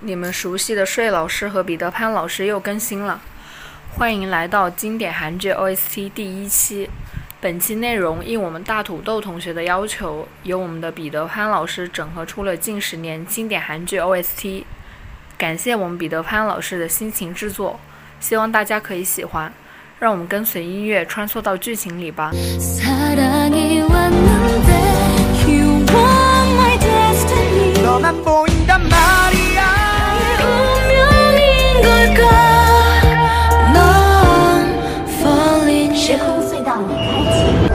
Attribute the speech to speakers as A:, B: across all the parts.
A: 你们熟悉的睡老师和彼得潘老师又更新了，欢迎来到经典韩剧 OST 第1期。本期内容应我们大土豆同学的要求，由我们的彼得潘老师整合出了近10年经典韩剧 OST， 感谢我们彼得潘老师的辛勤制作，希望大家可以喜欢。让我们跟随音乐穿梭到剧情里吧。
B: 时空隧道已开启。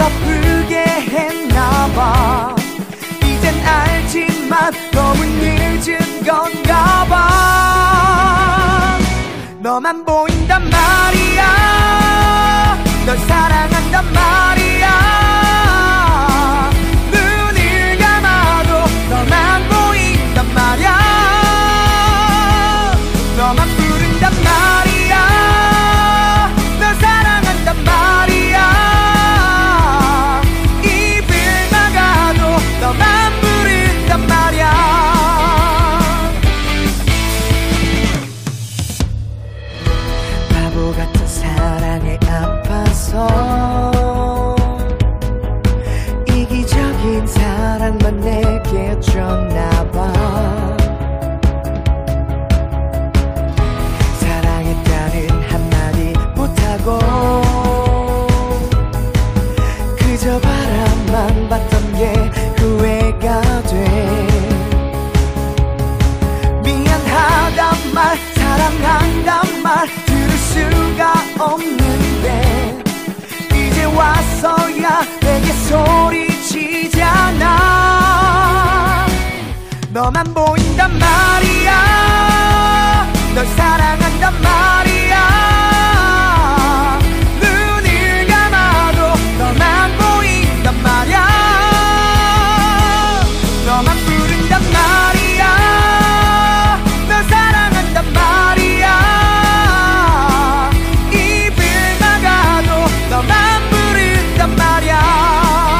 C: 아프게 했나봐. 이젠 알지만 너무 늦은 건가 봐. 너만 보인단 말이야. 널 사랑한단 말이야. 눈을 감아도 너만 보인단 말이야. 너만 부른단 말이야. 널 사랑한단 말이야. 입을 막아도 너만 부른단 말이야. 바보 같은 사랑에 아파서 이기적인 사랑만 내게 줬나봐. 사랑했다는 한마디 못하고 그저 바람만 봤던 게 후회가 돼. 미안하단 말, 사랑한단 말 들을 수가 없는데 이제 와서야 내게 소리치잖아. 너만 보인단 말이야. 널 사랑한단 말이야. 눈을 감아도 너만 보인단 말이야. 너만 부른단 말이야. 널 사랑한단 말이야. 입을 막아도 너만 부른단 말이야.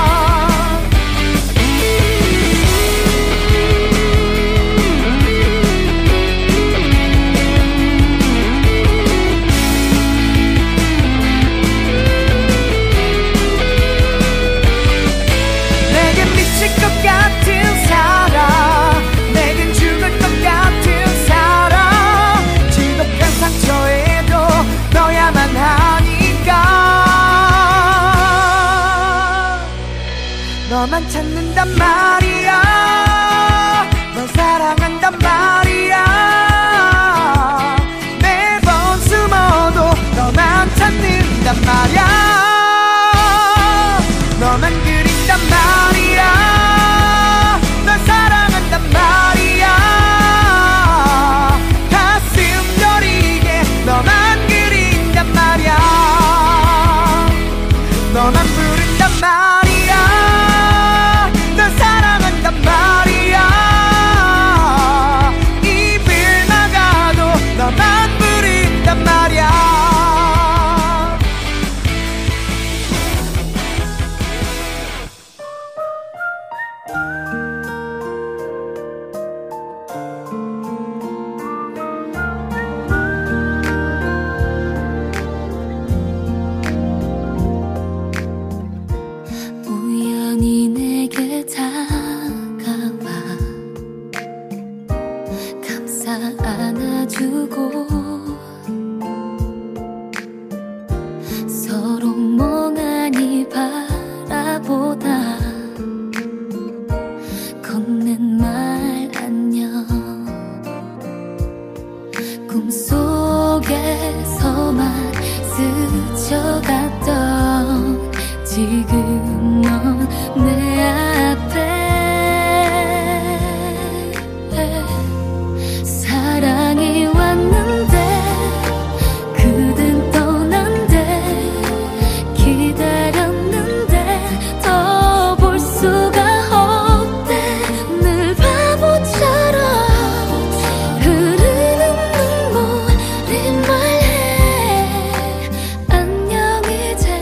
C: 내겐 미칠 것 같은 사랑, 내겐 죽을 것 같은 사랑. 지독한 상처에도 너야만 하니까 너만 찾는단 말이야. 널 사랑한단 말이야. 매번 숨어도 너만 찾는단 말이야. 너만 그린단 말이야. 널 사랑한단 말이야. 가슴 저리게 너만 그린단 말이야. 너만 부른단 말이야. 널 사랑한단 말이야. 입을 막아도 너만 부른단 말이야.
B: 우연히 내게 다가와 감싸 안아주고 서로 멍하니 바라보다 건넨 말 안녕. 꿈속에서만 스쳐갔던 지금 넌 내 앞에. 사랑이 왔는데 그댄 떠난대. 기다렸는데 더 볼 수가 없대. 늘 바보처럼 흐르는 눈물이 말해 안녕 이제.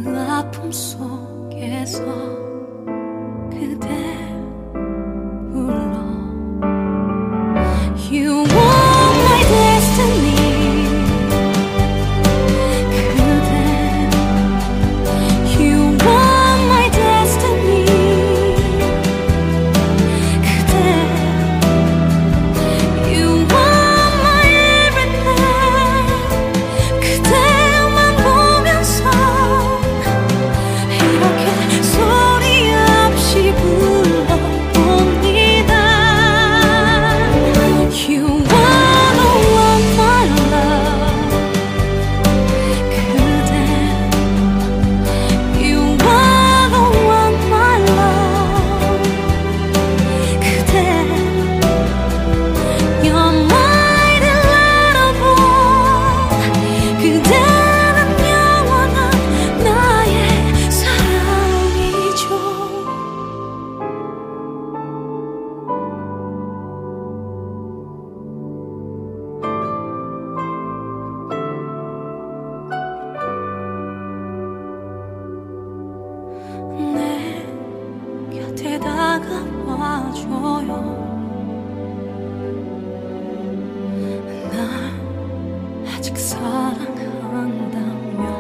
D: 그 아픔 속에서 그대 불러 You want my destiny 그대 You want my destiny 그대 You want my everything 그대만 보면서 이렇게 소리 없이 불러봅니다 You wanna want my love 그대 You wanna want my love 그대 You're my little boy 그대는 영원한 나의 사랑이죠 내 곁에 다가와줘요 날 아직 사랑한다면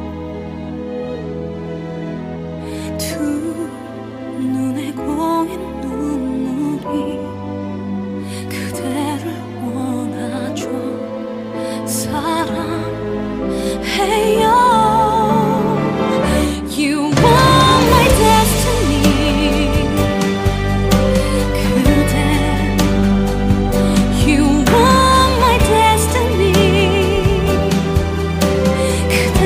D: 두 눈에 고인 눈물이 그대를 원하죠 사랑해요 You want my destiny 그대 You want my destiny 그대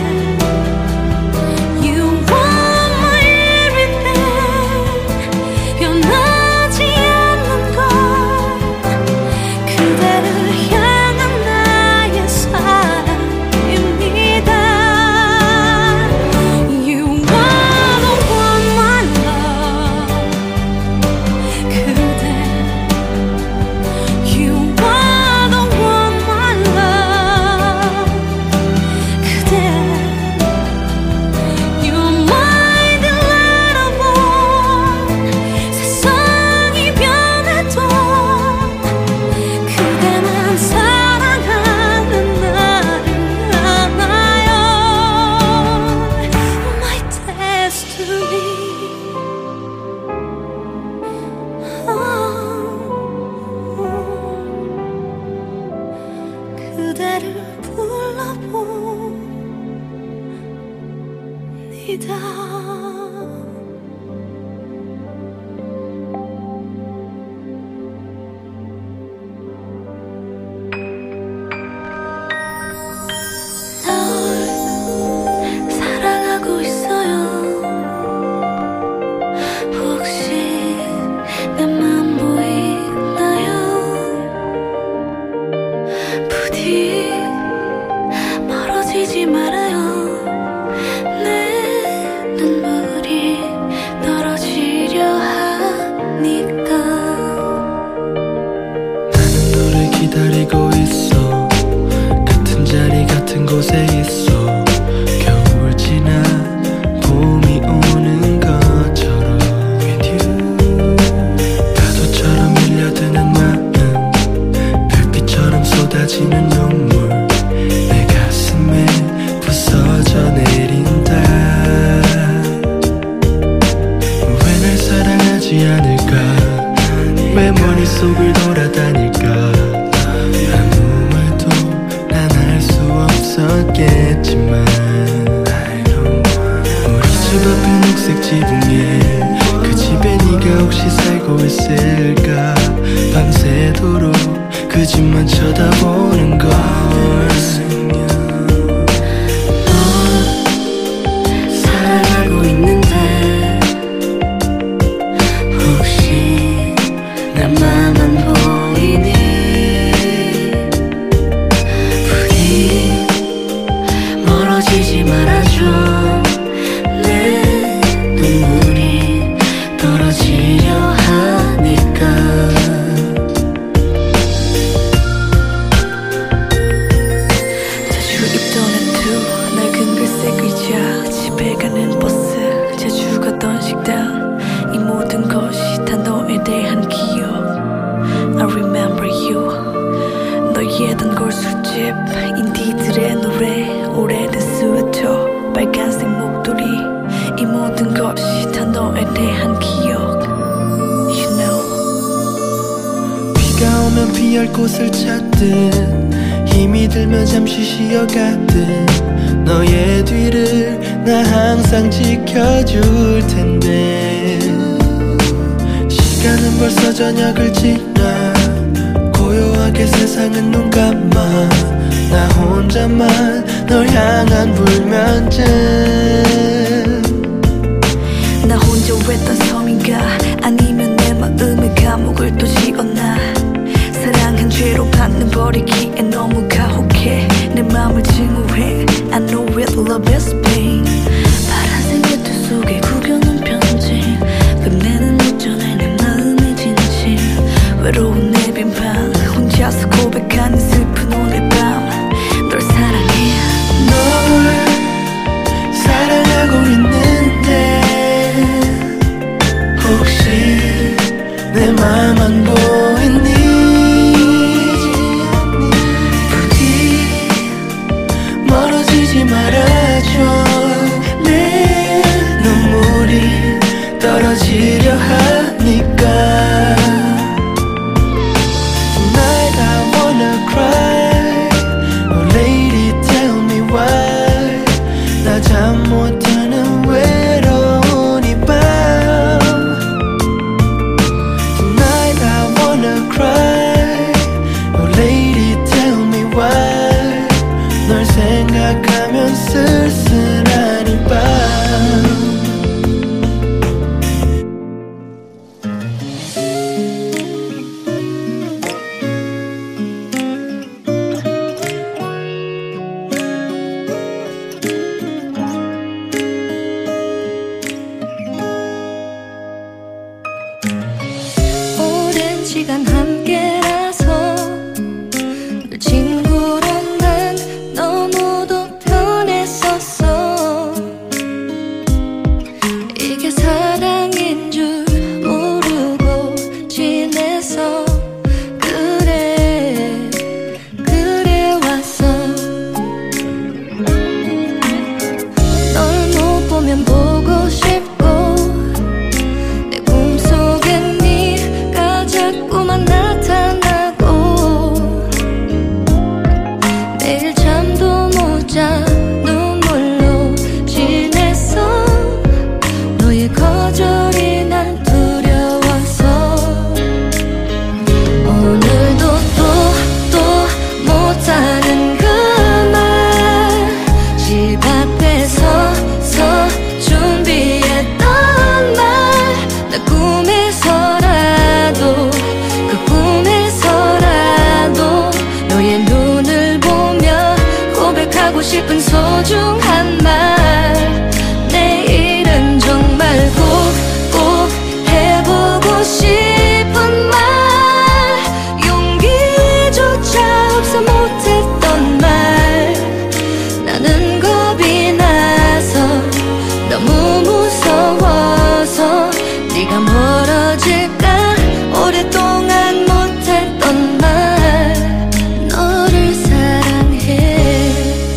D: You want my everything 변하지 않는 것 그대를 향한 나의 사랑입니다 You wanna want my love 그대 You wanna want my love 그대 You're my little boy 세상이 변해도 그대만 사랑하는 나를 알아요 My destiny 그대를 불러봅니다 널 사랑하고 있어요 혹시 내맘 보이나요 부디 멀어지지 말아요 내 눈물이 떨어지려 하니까
E: 나는 너를 기다리고 있어 같은 자리 같은 곳에 있어 겨울 지나 봄이 오는 것처럼 With you 파도처럼 밀려드는 마음 별빛처럼 쏟아지는 눈물 내 가슴에 부서져 내린다 왜 날 사랑하지 않을까 왜 머릿속을 돌아다닐까 아무 말도 난 할 수 없었겠지만 우리 집 앞에 녹색 지붕에 그 집에 네가 혹시 살고 있을까 밤새도록 그 집만 쳐다보는 걸
D: 사랑하고 있는데 혹시 나만 보이니 부디 멀어지지 말아줘 내 눈물이 떨어지려 하니까 자주 입던 애투 낡은 글색 의자
E: 쉴 곳을 찾듯 힘이 들면 잠시 쉬어가듯 너의 뒤를 나 항상 지켜줄 텐데 시간은 벌써 저녁을 지나 고요하게 세상은 눈 감아 나 혼자만 널 향한 불면증
D: 나 혼자 외딴 섬인가 아니면 내 마음의 감옥을 또 지었나 사랑한 죄로 받는 버리기에 너무 가혹해 내 맘을 증오해 I know real love is pain 파란색 외투 속에 구겨놓은 편지 끝내는 어쩌네 내 마음의 진실 외로운 내 빈방 혼자서 고백하는 슬픈 오늘 밤 널 사랑해
E: 널 사랑하고 있는데 혹시 내 맘 안 보이니 부디 멀어지지 말아줘 내 눈물이 떨어지려 하니까 Tonight I wanna cry Oh lady tell me why 나 잠 못하는 외로운 이 밤 Tonight I wanna cry Oh lady tell me why 널 생각하면 쓸쓸한 이 밤
D: 오랜 시간 함께라서 늘 친구로 난 너무도 편했었어 이게 사랑인 줄 모르고 지내서 그래 왔어 널 못 보면 보고 싶고 내 꿈속에 네가 자꾸만 나타나고 매일 잠도 못 자 눈물로 지냈어 너의 거절이 난 두려워서 오늘도 또 못하는 그 말 집 앞에 서서 준비했던 말 나 꿈에서라도 그 꿈에서라도 너의 눈을 보며 고백하고 싶은 소중한 말 내일은 정말 꼭 해보고 싶은 말 용기조차 없어 못했던 말 나는 겁이 나서 너무 무서워서 네가 멀어질까 오랫동안 못했던 말 너를 사랑해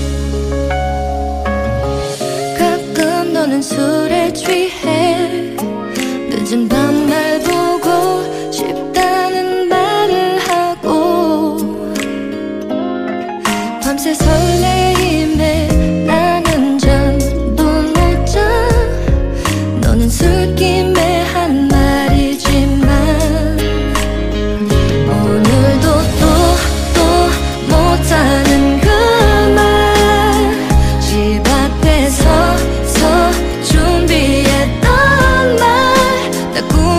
D: 가끔 너는 술에 취해 늦은 밤 날 보고 싶다는 말을 하고 밤새 설레임에 나는 잠도 못 자 너는 술김에 한 말이지만 오늘도 또 못하는 그 말 집 앞에 서서 준비했던 말 나 꿈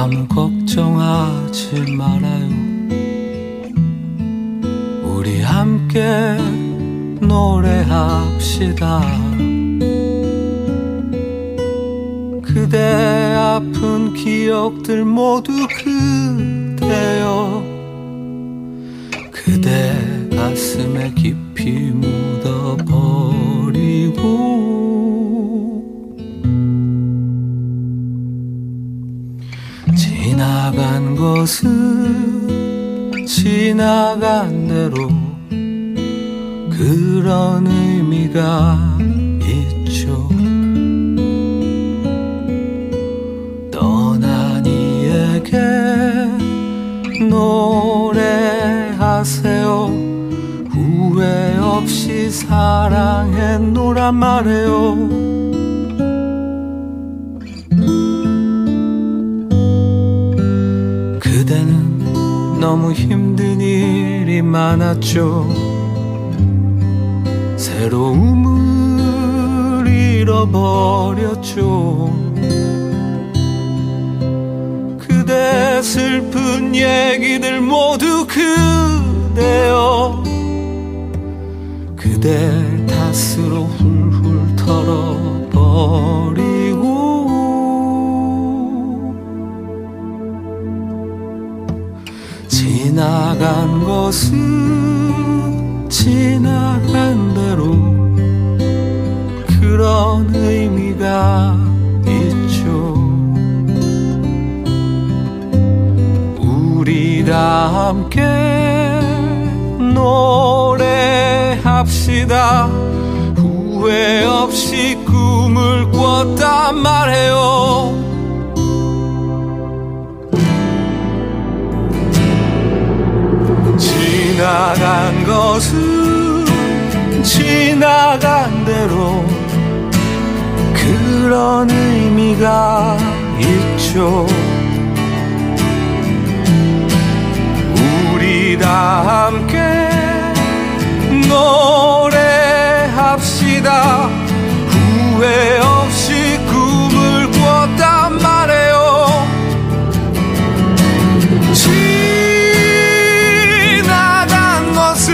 E: 아무 걱정하지 말아요. 우리 함께 노래합시다. 그대 아픈 기억들 모두 그대여 그대 가슴에 깊이 묻어버리고 지나간 것은 지나간 대로 그런 의미가 있죠. 떠난 이에게 노래하세요. 후회 없이 사랑했노란 말해요. 그대는 너무 힘든 일이 많았죠. 새로움을 잃어버렸죠. 그대 슬픈 얘기들 모두 그대여 그대 탓으로 훌훌 털어버리고 지나간 것은 지나간 대로 그런 의미가 있죠. 우리 다 함께 노래합시다. 후회 없이 꿈을 꿨단 말해요. 지나간 것은 지나간 대로 그런 의미가 있죠. 우리 다 함께 노래합시다. 후회 없이 꿈을 꿨단 말해요. 지나간 것은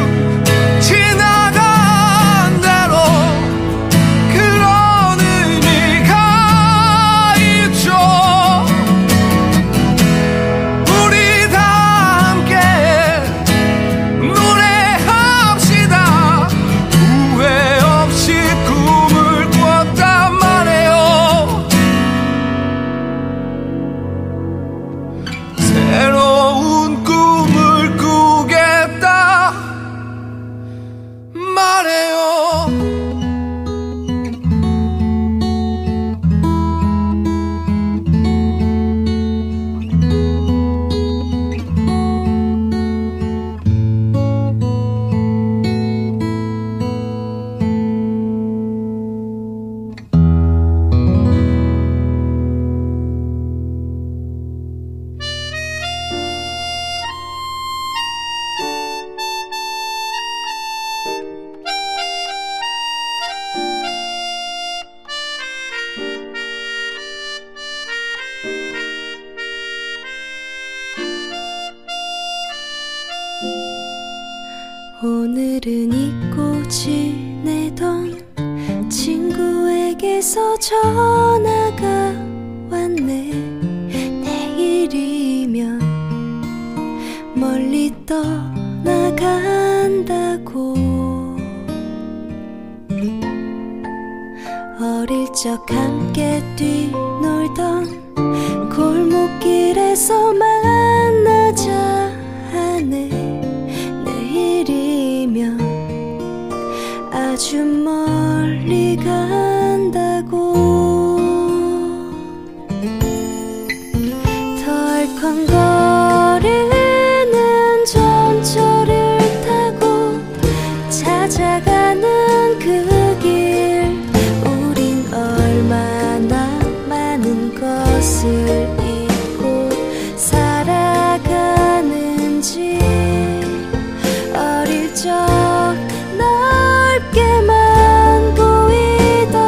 E: 지나간 대로 그런 의미가 있죠. 우리 다 함께 노래합시다. 후회 없이 꿈을 꿨단 말해요. 새로운 꿈을 꾸겠다 말해요.
D: 오늘은 잊고 지내던 친구에게서 전화가 왔네. 내일이면 멀리 떠나간다고. 어릴 적 함께 뛰놀던 골목길에서 만나자 하네. 내일이면 아주 멀리 간다고. 덜컹거리는 전철을 타고 찾아가는 그 길. 우린 얼마나 많은 것을 잊고 살아가는지. 어릴 적 넓게만 보이던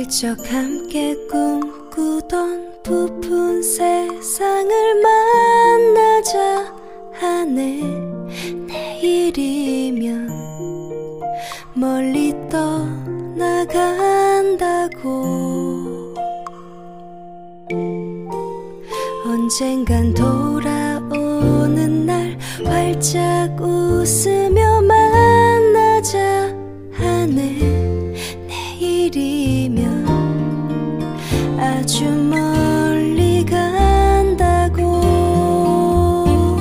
D: 적 함께 꿈꾸던 부푼 세상을 만나자 하네. 내일이면 멀리 떠나간다고. 언젠간 돌아오는 날 활짝 웃으며 만나자 하네. 내일이면 아주 멀리 간다고.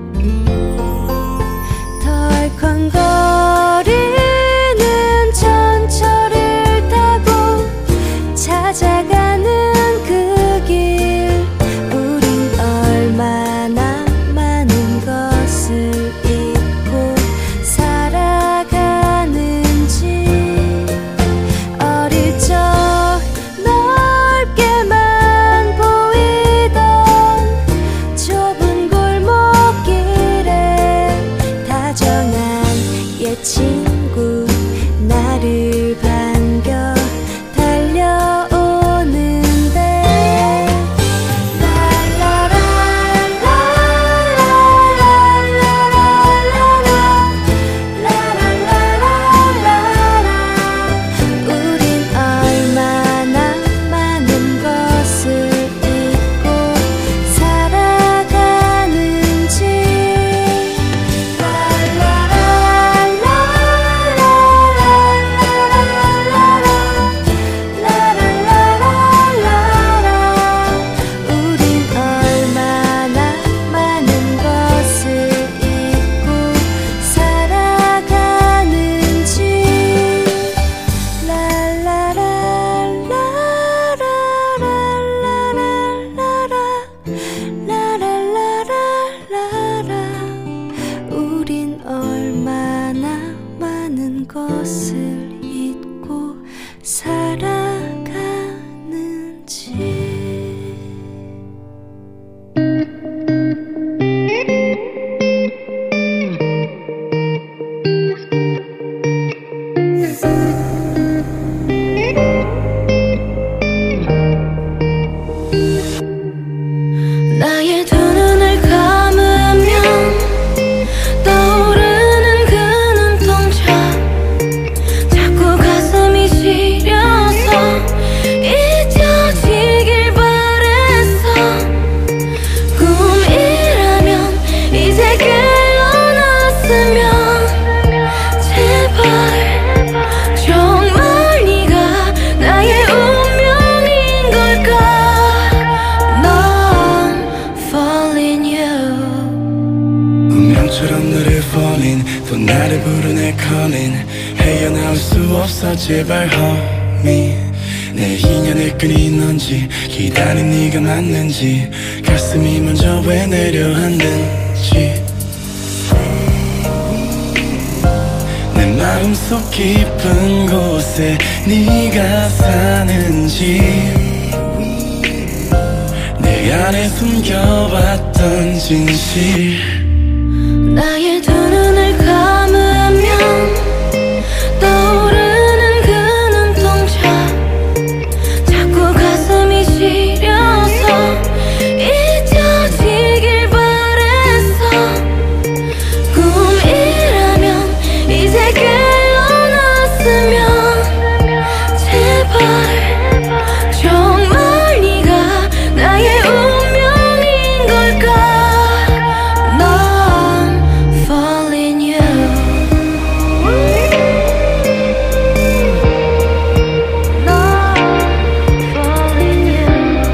D: 덜컹거리는 전철을 타고 찾아가는 그 길. 우린 얼마나 많은 것을 잊고 살아가는지. 어릴 적 넓게만 보이던 좁은 골목길에 다정한 옛 친구 나를 반겨 달려오는데. 우린 얼마나 많은 것을 잊고 살아가는지. 우린 얼마나 많은 것을 잊고 살아가는지. 우린 얼마나 많은 것을 잊고 살아가는지. 나의 두 눈을 감으면 떠오르는 그 눈동자. 자꾸 가슴이 시려서 잊혀지길 바랬어. 꿈이라면 이제 깨어났으면 제발 정말 네가 나의 운명인 걸까. Falling you.
E: 운명처럼 너를 falling 또 나를 부르네 calling. 헤어나올 수 없어 제발 homie. 내 인연을 끊인 넌지 기다린 네가 맞는지 가슴이 먼저 왜 내려앉는지. 내 마음속 깊은 곳에 네가 사는지 내 안에 숨겨왔던 진실.
D: 나의 두 눈을 감으면 떠오르는 그 눈동자. 자꾸 가슴이 시려서 잊혀지길 바랬어. 꿈이라면 이제 깨어났으면 제발 정말 네가 나의 운명인 걸까. 넌 falling you. 넌 falling you.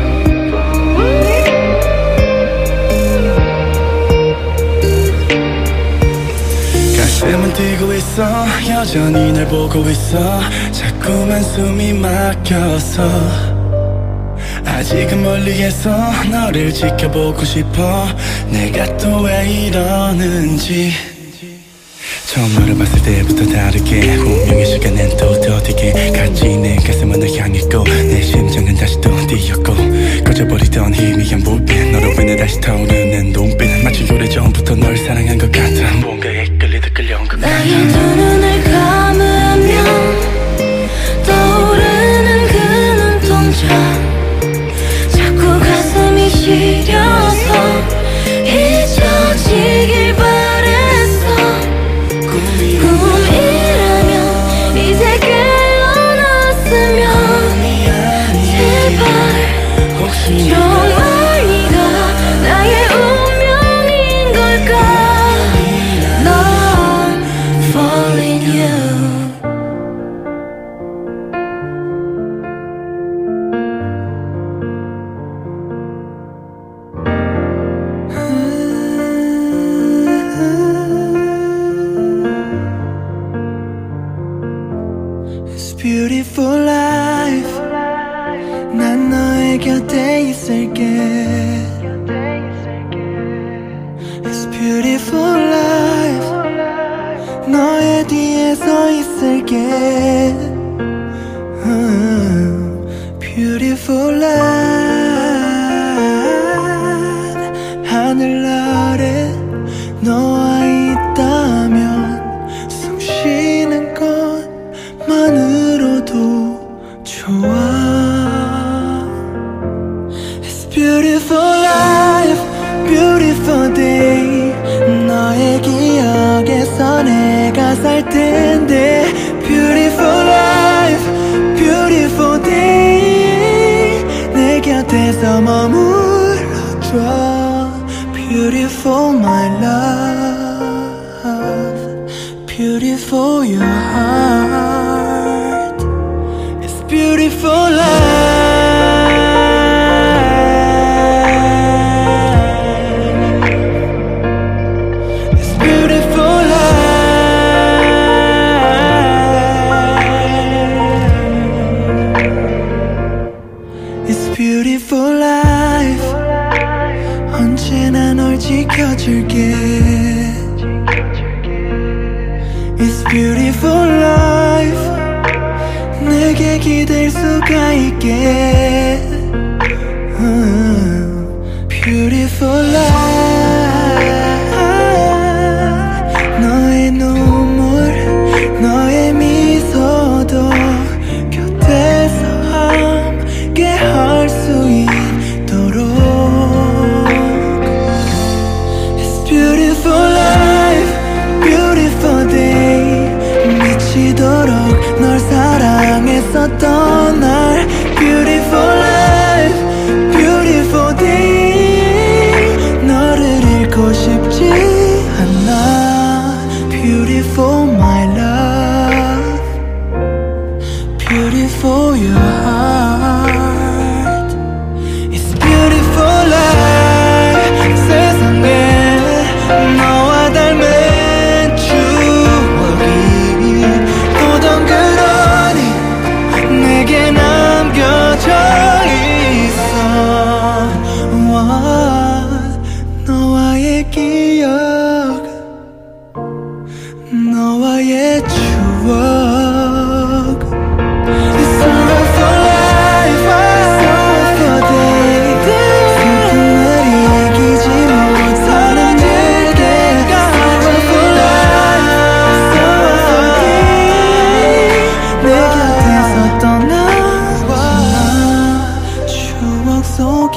E: 가슴은 뛰고 있어 여전히 날 보고 있어. 자꾸만 숨이 막혀서 아직은 멀리에서 너를 지켜보고 싶어. 내가 또 왜 이러는지. 처음 너를 봤을 때부터 다르게 운명의 시간엔 또 더디게 같이 내 가슴은 널 향했고 내 심장은 다시 또 뛰었고 꺼져버리던 희미한 불빛 너로 인해 다시 타오르는 눈빛 마치 오래전부터 널 사랑한 것 같아. 뭔가에 끌리듯 끌려온 것 같아.
D: 나의 두 눈을 감으면 떠오르는 그
E: 너의 뒤에 서 있을게. Beautiful light. 하늘 아래 너와 있다면 숨 쉬는 것만으로도 좋아. It's beautiful life, beautiful day. 너의 기억에서 내가 살 텐데. Beautiful life, beautiful day. 내 곁에서 머물러줘. Beautiful my love, beautiful your heart. It's beautiful life. It's beautiful life. It's beautiful life. 언제나 널 지켜줄게. It's beautiful life. 내게 기댈 수가 있게. Beautiful life. 너의 눈물, 너의 미소도 곁에서 함께 할 수 있도록. Beautiful life, beautiful day. 미치도록 널 사랑했었던 날. Beautiful life, beautiful day. 너를 잃고 싶지 않아. Beautiful my love, beautiful your heart. It's beautiful life. 세상에 너와 닮은 추억이 또 덩그러니 내게 남겨져 있어. 너와의 기억, 너와의 추억. It's all for life, it's all for day. 슬픈 날 이기지 못하는 내게. It's all for life, it's all for day. 내 곁에서 떠나와 추억 속에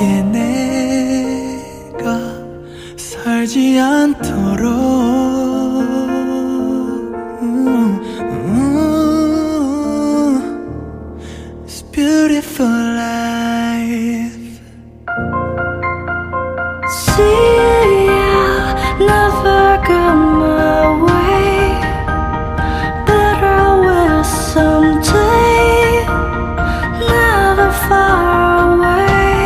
E: 내가 살지 않도록. It's beautiful life.
D: See, I'll never go my way, but I will someday, never far away.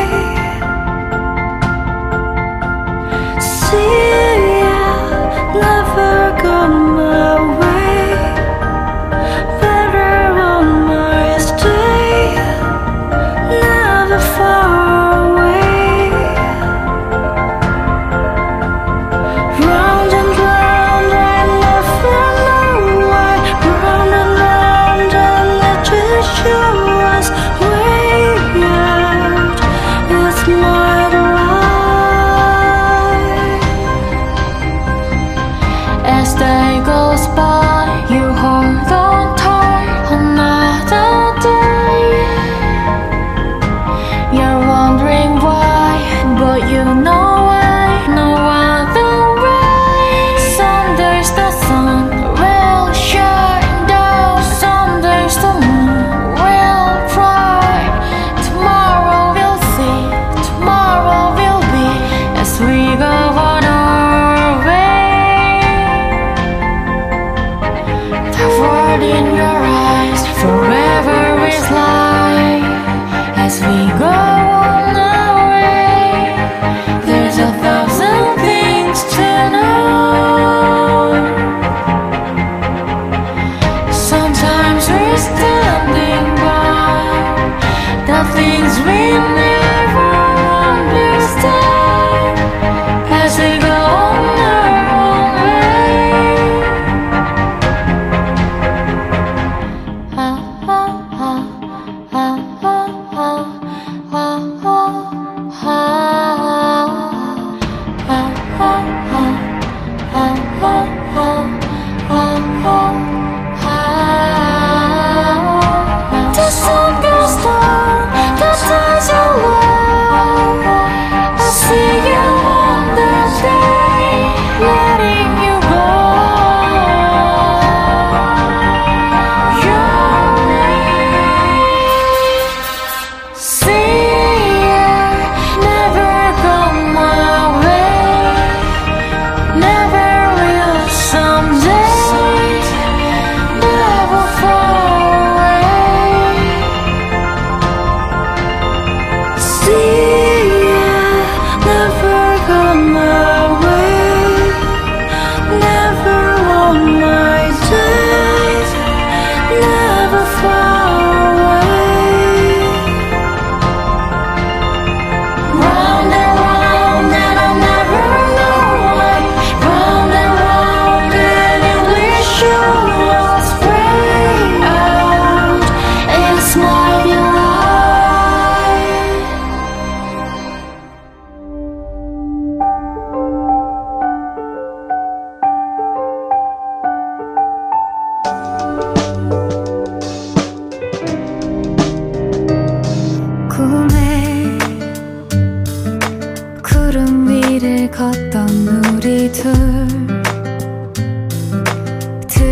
D: See, I'll never go my way, but I want my stay, never far away. Round and round, I never know why. Round and round, and I just show us way out. It's my life. As day goes by, you hold on tight. Another day, you're wondering why, but you know why. No other way. Some days the sun will shine down, some days the moon will bright. Tomorrow we'll see, tomorrow will be, as we go on our way. The word in your eyes forever is light. As we go on our way, there's 1,000 things to know. Sometimes we're standing by the things we never understand. As we go on our own way,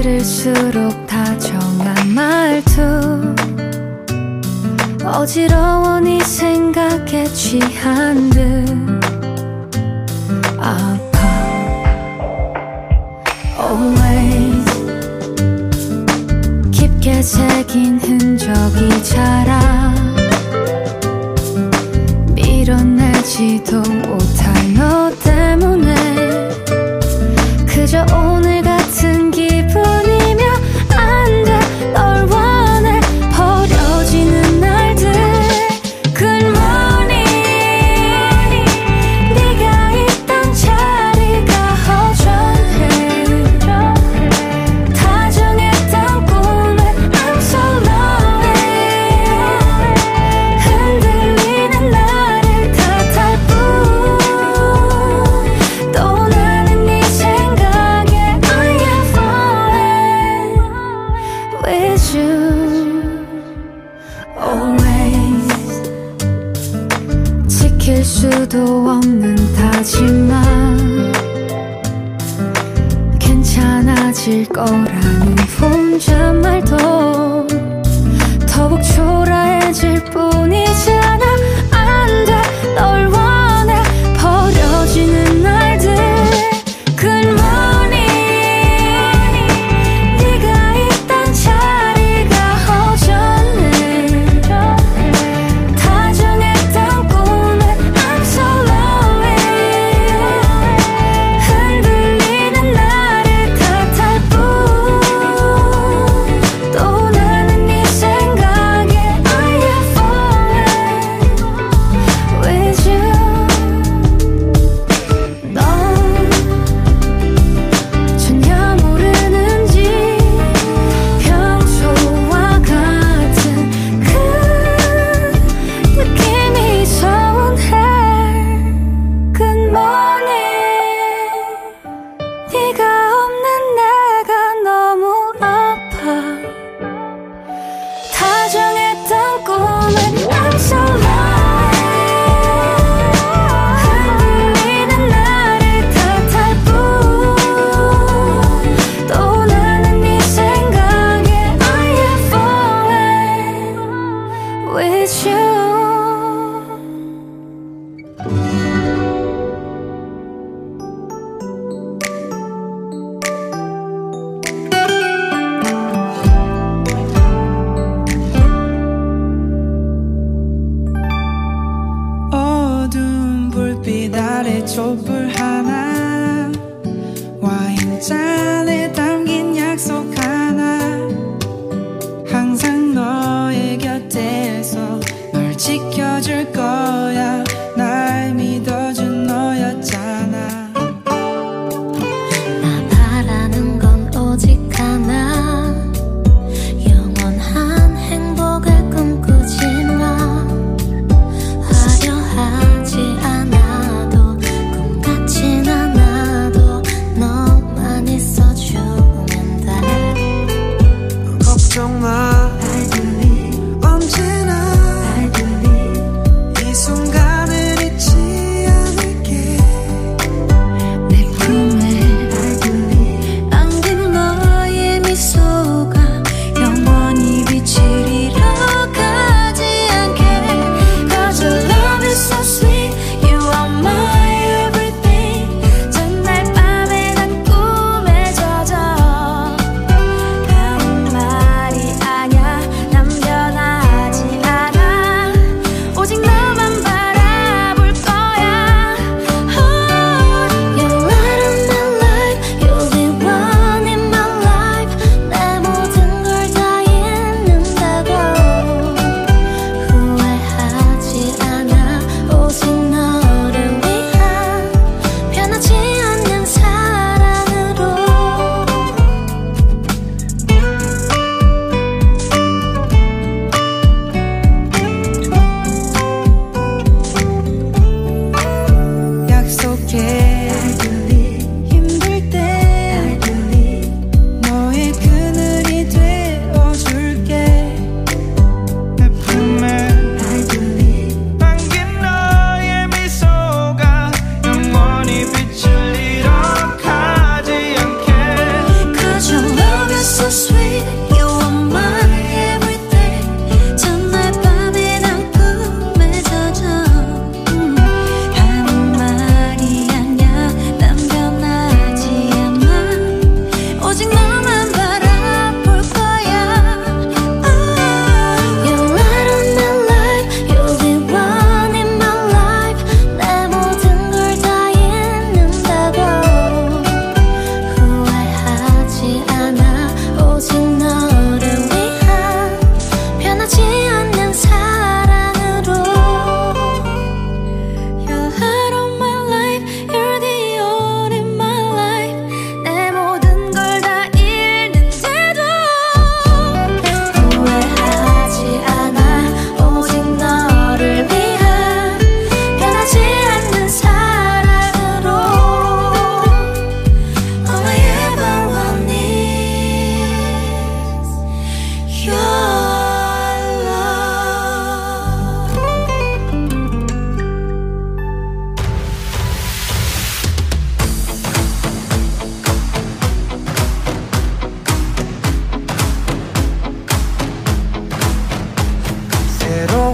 D: 들을수록 다정한 말투 어지러워 네 생각에 취한 듯 아파 Always 깊게 새긴 흔적이 자라 밀어내지도 못할 너 때문에 그저 오늘 같은 기분이면 안 돼 널 원해 버려지는 날들 Good morning 네가 있던 자리가 허전해 다정했던 꿈에 I'm so lonely 흔들리는 나를 탓할 뿐 또 나는 네 생각에 I am falling with you Always 지킬 수도 없는 다짐만 괜찮아질 거라는 혼잣말도 더욱 초라해질 뿐이잖아 안 돼 널 원해 버려지는 날들 Good morning 네가 있던 자리가 허전해 다정했던 꿈에 I'm so lonely 흔들리는 나를 탓할 뿐 또 나는 네 생각에 I am falling with you 넌 전혀 모르는지 평소와 같은 그 느낌이 서운해 Good morning 네가 없는 내가 너무 아파 다정했던 꿈에 I'm so lonely 흔들리는 나를 탓할 뿐 또 나는 네 생각에 I am falling with you
C: 어두운 불빛 아래 촛불 하나 와인잔에 담긴 약속 하나 항상 너의 곁에서 널 지켜줄 거야 날 믿어준 너였잖아
F: 나 바라는 건 오직 하나 영원한 행복을 꿈꾸지만 화려하지 않아도 꿈같이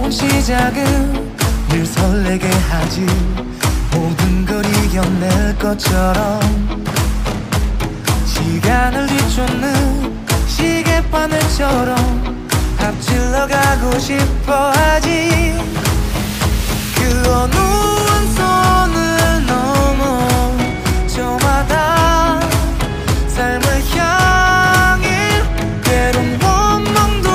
C: 새로운 시작은 늘 설레게 하지. 모든 걸 이겨낼 것처럼 시간을 뒤쫓는 시계바늘처럼 앞질러 가고 싶어 하지. 그 어느 선을 넘어 저마다 삶을 향해 때론 원망도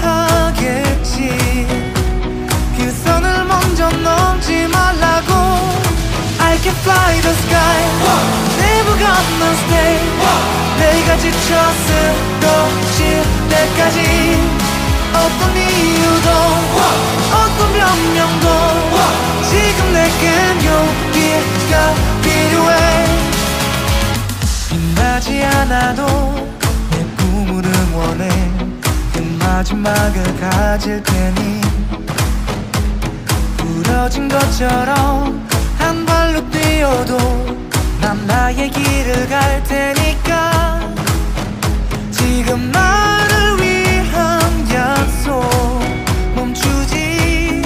C: 하겠지. 그 선을 먼저 넘지 말라고. I can fly the sky, never gonna stay. 내가 지쳐 쓰러질 때까지 어떤 이유도 어떤 변명도 지금 내겐 용기가 필요해. 빛나지 않아도 내 꿈을 응원해. 그 마지막을 가질 테니 부러진 것처럼 한 발로 뛰어도 난 나의 길을 갈 테니까. 지금 나를 위한 약속 멈추지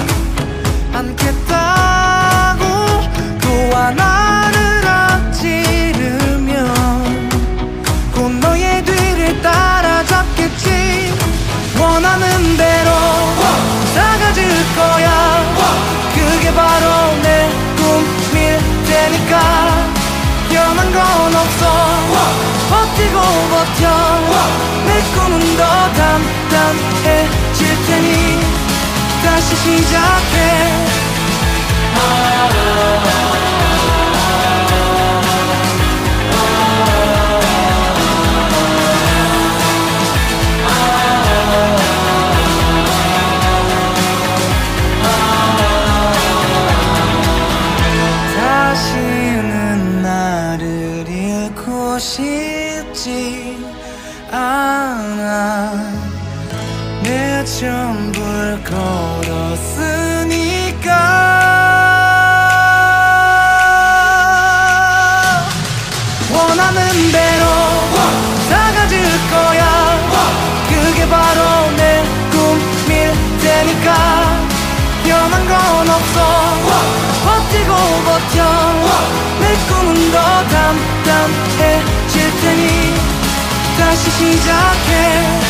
C: 않겠다고. 또 하나를 앞지르면 곧 너의 뒤를 따라잡겠지. 원하는 대로 사가질 거야. 그게 바로 내 꿈일 테니까. 변한 건 없어. 버티고 버텨. 내 꿈은 더 단단해질 테니 다시 시작해. 다시는 나를 잃고 싶지 않아. 내 전부를 걸었으니까. 원하는 대로 사가질 거야. 그게 바로 내 꿈일 테니까. 변한 건 없어. 버티고 버텨. 내 꿈은 더 단단해질 테니 다시 시작해.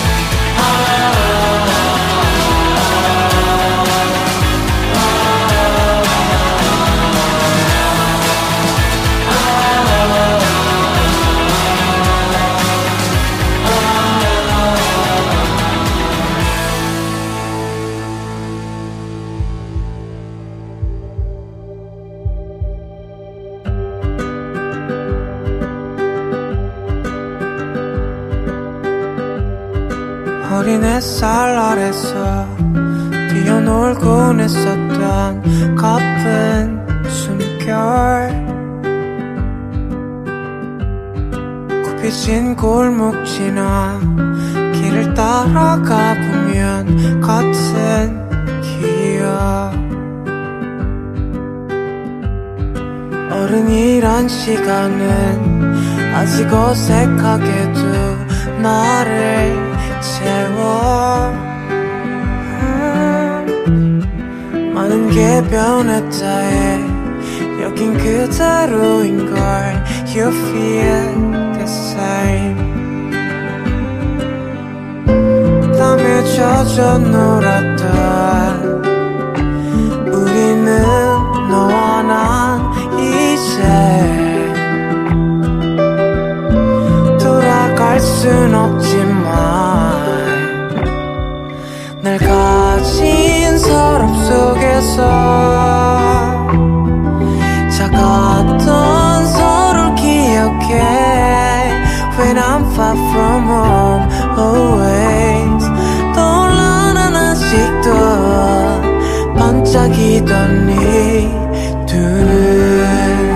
C: 어린 햇살 아래서 뛰어놀곤 했었던 가쁜 숨결. 굽혀진 골목 지나 길을 따라가 보면 같은 기억. 어른이란 시간은 아직 어색하게도 나를 채워. 많은 게 변했다 해. 여긴 그대로인걸. You feel the same. 땀에 젖어 놀았던 우리는 너와 난 이제 돌아갈 순 없지만 날 가진 서랍 속에서 작았던 서로를 기억해. When I'm far from home always 떠올라 난 아직도 반짝이던 네 두 눈.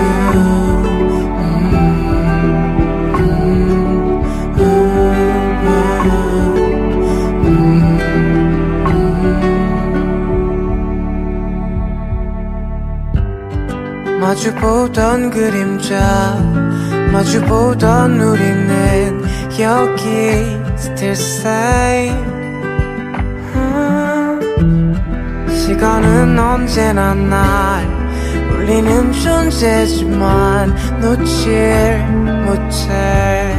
C: 마주보던 그림자 마주보던 우리는 여기 still same. 시간은 언제나 날 울리는 존재지만 놓질 못해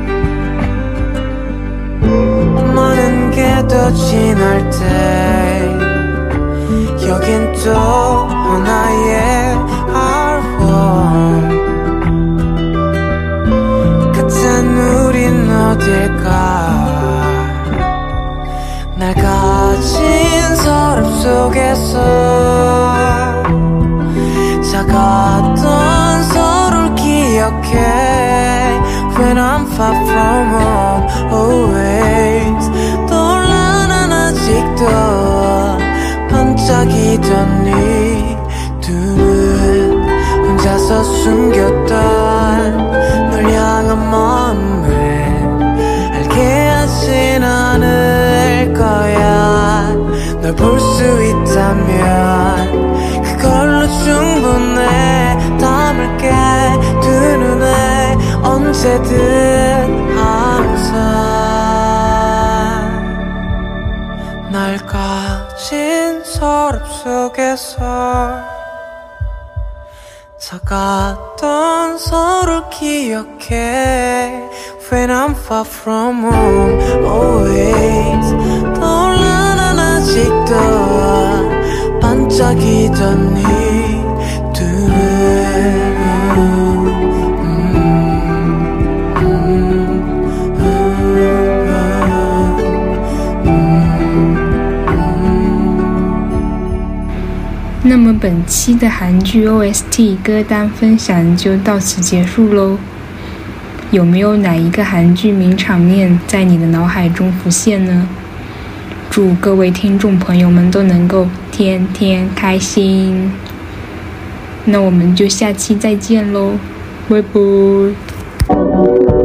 C: 많은 게 더 지날 때 여긴 또 하나의 알원 같은 우린 어딜까 날 가진 서랍 속에서 작았던 서로를 기억해 When I'm far from home always 떠올라 난 아직도 반짝이던 네 두 눈 혼자서 숨겼던 널 향한 마음을 알게 하진 않을 거야 널 볼 수 있다면 그걸로 충분해 담을게 두 눈에 언제든 항상 날 가진 서랍 속에서 작았던 서로를 기억해 When I'm far from home always 떠올라 난 아직도 반짝이던 네 두
G: 那么本期的韩剧 OST 歌单分享就到此结束咯。有没有哪一个韩剧名场面在你的脑海中浮现呢？祝各位听众朋友们都能够天天开心。那我们就下期再见咯，拜拜。